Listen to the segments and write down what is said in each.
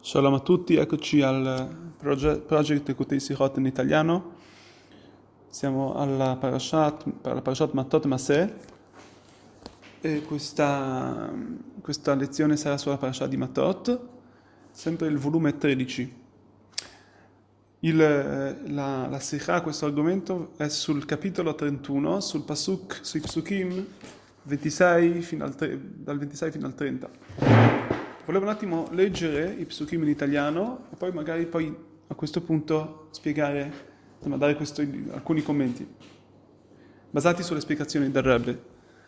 Shalom a tutti, eccoci al Project Ekutei Sichot in italiano. Siamo alla Parashat Matot Maseh e questa lezione sarà sulla Parashat di Matot, sempre il volume 13. La Sikha, questo argomento, è sul capitolo 31, sui Psukim 26 dal 26 fino al 30. Volevo un attimo leggere i psukim in italiano e poi magari a questo punto spiegare, dare alcuni commenti basati sulle spiegazioni del Rebbe.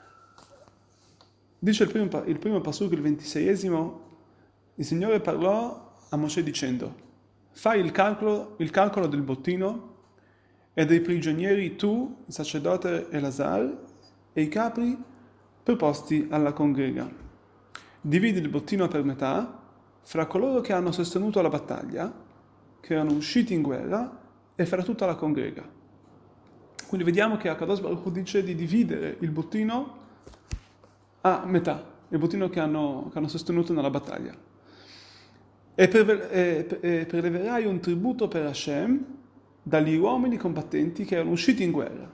Dice il primo pasuk, il 26esimo, il Signore parlò a Mosè dicendo: fai il calcolo del bottino e dei prigionieri tu, il sacerdote Elazar e i capri preposti alla congrega. Dividi il bottino per metà fra coloro che hanno sostenuto la battaglia, che erano usciti in guerra, e fra tutta la congrega. Quindi vediamo che Akadosh Baruch Hu dice di dividere il bottino a metà, il bottino che hanno sostenuto nella battaglia. E preleverai un tributo per Hashem dagli uomini combattenti che erano usciti in guerra,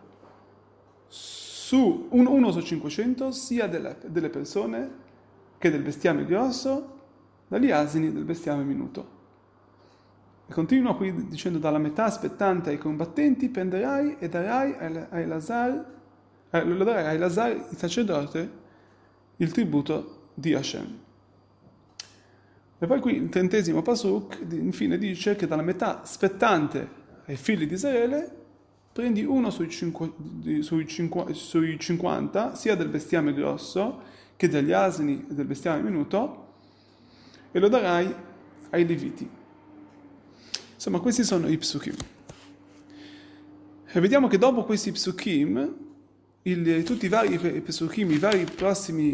uno su 500, sia delle persone che del bestiame grosso, dagli asini del bestiame minuto. E continua qui dicendo: dalla metà aspettante ai combattenti prenderai e darai a Elazar, il sacerdote, il tributo di Hashem. E poi qui il 30° pasuk infine dice che dalla metà spettante ai figli di Israele prendi uno sui 50, sia del bestiame grosso che degli asini e del bestiame minuto, e lo darai ai Leviti. Insomma, questi sono i psukim. E vediamo che dopo questi psukim, tutti i vari psukim, i vari prossimi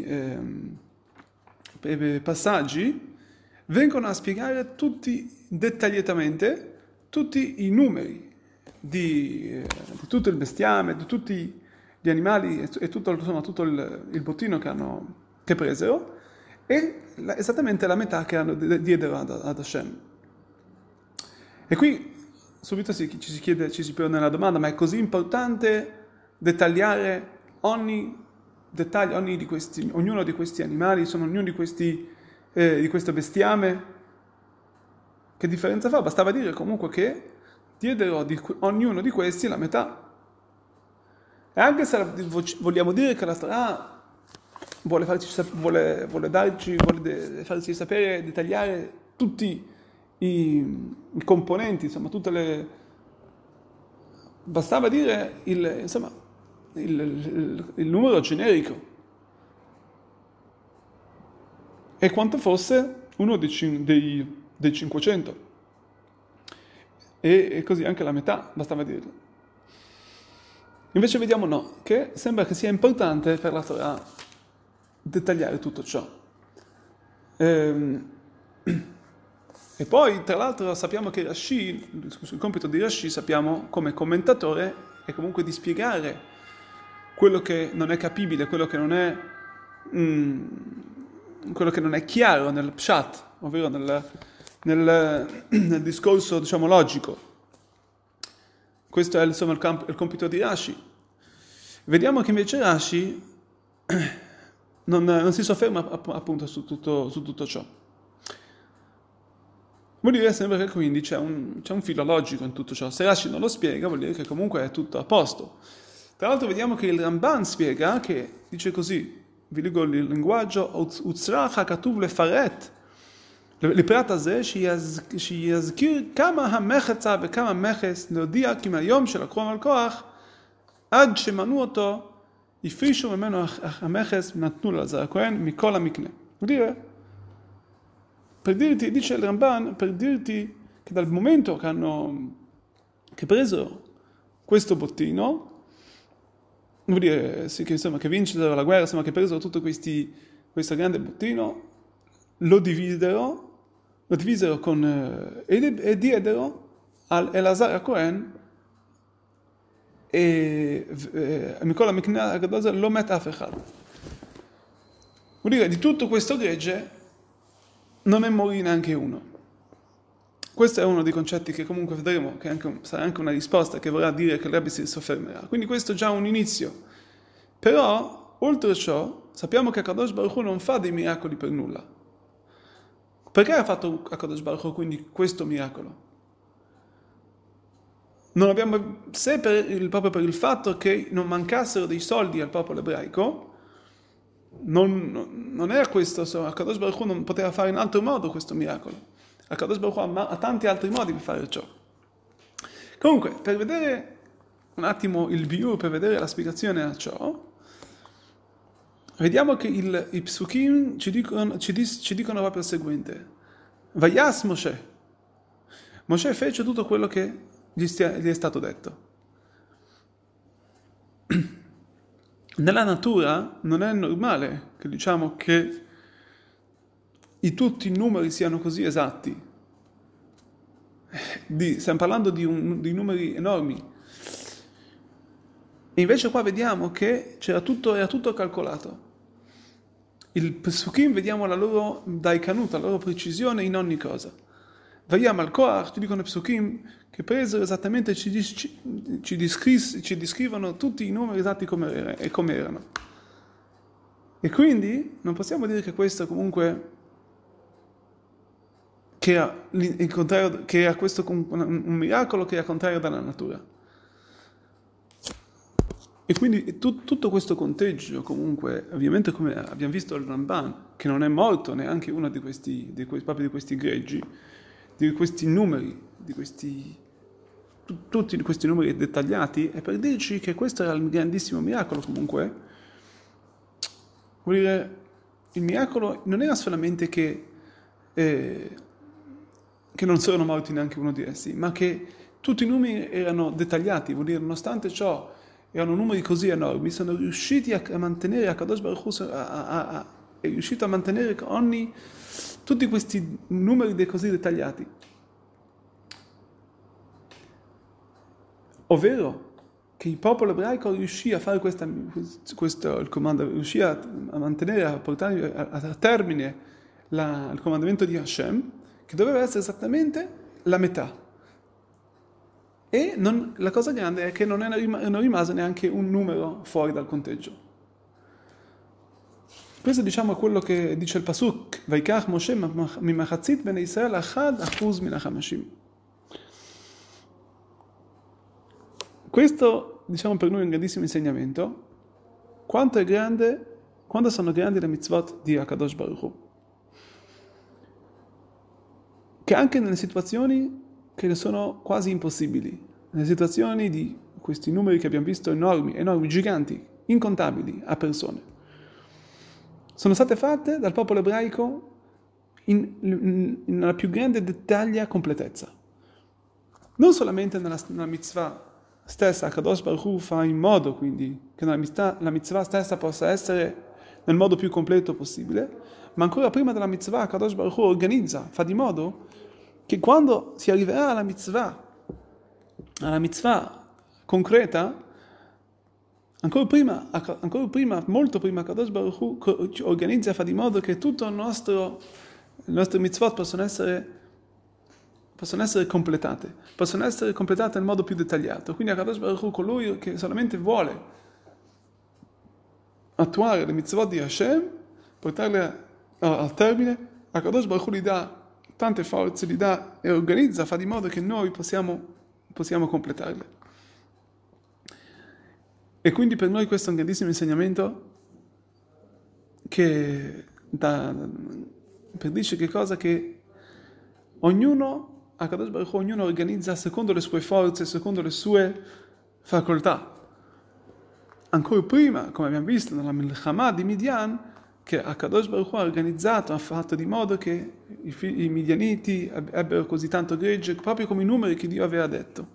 passaggi, vengono a spiegare tutti dettagliatamente tutti i numeri di tutto il bestiame, di tutti gli animali e tutto il bottino che presero, e esattamente la metà che diedero ad Hashem. E qui subito ci si pone la domanda: ma è così importante dettagliare ognuno di questi animali, ognuno di questo bestiame? Che differenza fa? Bastava dire comunque che diedero di ognuno di questi la metà. E anche se vogliamo dire che la Torah vuole farci sapere, dettagliare tutti i componenti, insomma, bastava dire il numero generico e quanto fosse uno dei 500. E così anche la metà, bastava dirlo. Invece vediamo no, che sembra che sia importante per la Torah dettagliare tutto ciò. E poi, tra l'altro, sappiamo che Rashi, il compito di Rashi, sappiamo come commentatore, è comunque di spiegare quello che non è capibile, quello che non è chiaro nel pshat, ovvero nel discorso, diciamo, logico. Questo è insomma il compito di Rashi. Vediamo che invece Rashi non si sofferma appunto su tutto ciò. Vuol dire sempre che quindi c'è un filo logico in tutto ciò. Se Rashi non lo spiega, vuol dire che comunque è tutto a posto. Tra l'altro vediamo che il Ramban spiega, che dice così, vi leggo il linguaggio: Utzrach hakatuv lefaret לפרט הזה שיזכיר כמה המחצה וכמה המכס להודיע כי מהיום שלקחו מהלקוח עד שמנעו אותו הפרישו ממנו המכס ונתנו לאלעזר הכהן מכל המקנה. Dice il Ramban, per dirti che dal momento che presero questo bottino, vuol dire sì, che vincero la guerra, insomma, che presero tutto questo grande bottino, lo divisero e diedero al Elazar HaKohen e Mikola Mikna Agadoza lo met af echad. Vuol dire, di tutto questo gregge non ne morì neanche uno. Questo è uno dei concetti che comunque vedremo, che sarà anche una risposta che vorrà dire che il Rebbe si soffermerà. Quindi questo è già un inizio. Però, oltre a ciò, sappiamo che Akadosh Baruch Hu non fa dei miracoli per nulla. Perché ha fatto Akadosh Baruch Hu quindi questo miracolo? Non abbiamo, se proprio per il fatto che non mancassero dei soldi al popolo ebraico, non era questo, Akadosh Baruch Hu non poteva fare in altro modo questo miracolo. Akadosh Baruch Hu ha tanti altri modi per fare ciò. Comunque, per vedere un attimo il biur, per vedere la spiegazione a ciò, vediamo che i psukim ci dicono proprio il seguente. Vayas Moshe. Moshe fece tutto quello che gli è stato detto. Nella natura non è normale che diciamo che tutti i numeri siano così esatti. Stiamo parlando di numeri enormi. E invece qua vediamo che era tutto calcolato. Il Pesukim vediamo la loro daikanut, la loro precisione in ogni cosa. Vayam al Koach, ci dicono i Pesukim che presero esattamente, ci descrivono tutti i numeri esatti come erano. E quindi non possiamo dire che questo comunque che era questo un miracolo che è al contrario dalla natura. E quindi tutto questo conteggio, comunque, ovviamente come abbiamo visto il Ramban, che non è morto neanche uno proprio di questi greggi, di questi numeri, tutti questi numeri dettagliati, è per dirci che questo era il grandissimo miracolo comunque. Vuol dire, il miracolo non era solamente che non sono morti neanche uno di essi, ma che tutti i numeri erano dettagliati, vuol dire, nonostante ciò, erano numeri così enormi, sono riusciti a mantenere, Akadosh Baruch Hu è riuscito a mantenere tutti questi numeri così dettagliati. Ovvero che il popolo ebraico riuscì a fare il comando, riuscì a mantenere, a portare a termine il comandamento di Hashem, che doveva essere esattamente la metà. E la cosa grande è che non rimase neanche un numero fuori dal conteggio. Questo diciamo è quello che dice il Pasuk, Vaikach Moshe mimachatzit bene Israel achad achuz min hachamashim. Questo diciamo per noi è un grandissimo insegnamento. Quanto sono grandi le mitzvot di Akadosh Baruch Hu. Che anche nelle situazioni che sono quasi impossibili, nelle situazioni di questi numeri che abbiamo visto enormi, giganti, incontabili a persone, sono state fatte dal popolo ebraico nella più grande dettaglia completezza. Non solamente nella mitzvah stessa, Akadosh Baruch Hu fa in modo quindi che la mitzvah stessa possa essere nel modo più completo possibile, ma ancora prima della mitzvah Akadosh Baruch Hu organizza, fa di modo che quando si arriverà alla mitzvah concreta, ancora prima, molto prima, Akadosh Baruch Hu organizza e fa di modo che tutto le nostre mitzvot possono essere completate nel modo più dettagliato. Quindi Akadosh Baruch Hu, colui che solamente vuole attuare le mitzvot di Hashem, portarle al termine, Akadosh Baruch Hu gli dà tante forze, li dà e organizza, fa di modo che noi possiamo completarle. E quindi per noi questo è un grandissimo insegnamento per dirci che cosa che ognuno organizza secondo le sue forze, secondo le sue facoltà. Ancora prima, come abbiamo visto nella Milchama di Midian, che Akadosh Baruch Hu ha organizzato, ha fatto di modo che i midianiti ebbero così tanto gregge, proprio come i numeri che Dio aveva detto.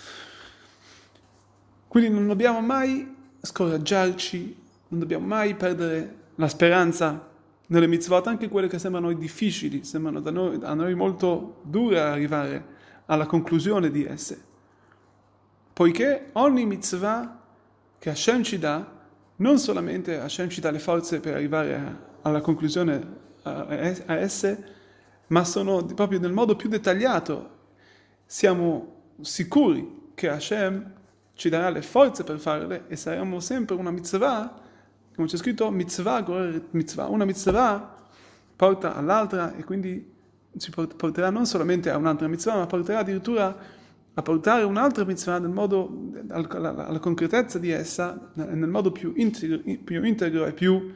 Quindi non dobbiamo mai scoraggiarci, non dobbiamo mai perdere la speranza nelle mitzvot, anche quelle che sembrano difficili, sembrano a noi molto dure arrivare alla conclusione di esse. Poiché ogni mitzvah che Hashem ci dà, non solamente Hashem ci dà le forze per arrivare alla conclusione a esse, ma sono proprio nel modo più dettagliato. Siamo sicuri che Hashem ci darà le forze per farle e saremo sempre una mitzvah, come c'è scritto, mitzvah, mitzvah. Una mitzvah porta all'altra e quindi ci porterà non solamente a un'altra mitzvah, ma porterà addirittura a portare un'altra mitzvah nel modo, alla concretezza di essa, nel modo più integro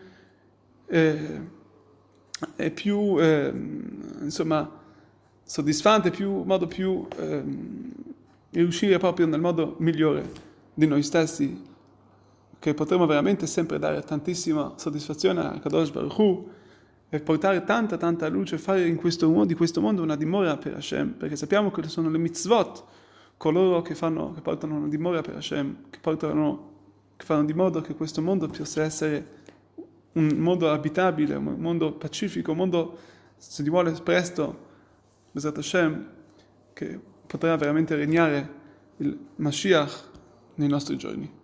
e più insomma, soddisfante, modo più riuscire proprio nel modo migliore di noi stessi, che potremo veramente sempre dare tantissima soddisfazione a Kadosh Baruch Hu e portare tanta luce, fare di questo mondo una dimora per Hashem, perché sappiamo che sono le mitzvot coloro che portano una dimora per Hashem, che fanno di modo che questo mondo possa essere un mondo abitabile, un mondo pacifico, un mondo, se ti vuole, presto, Bezrat Hashem, che potrà veramente regnare il Mashiach nei nostri giorni.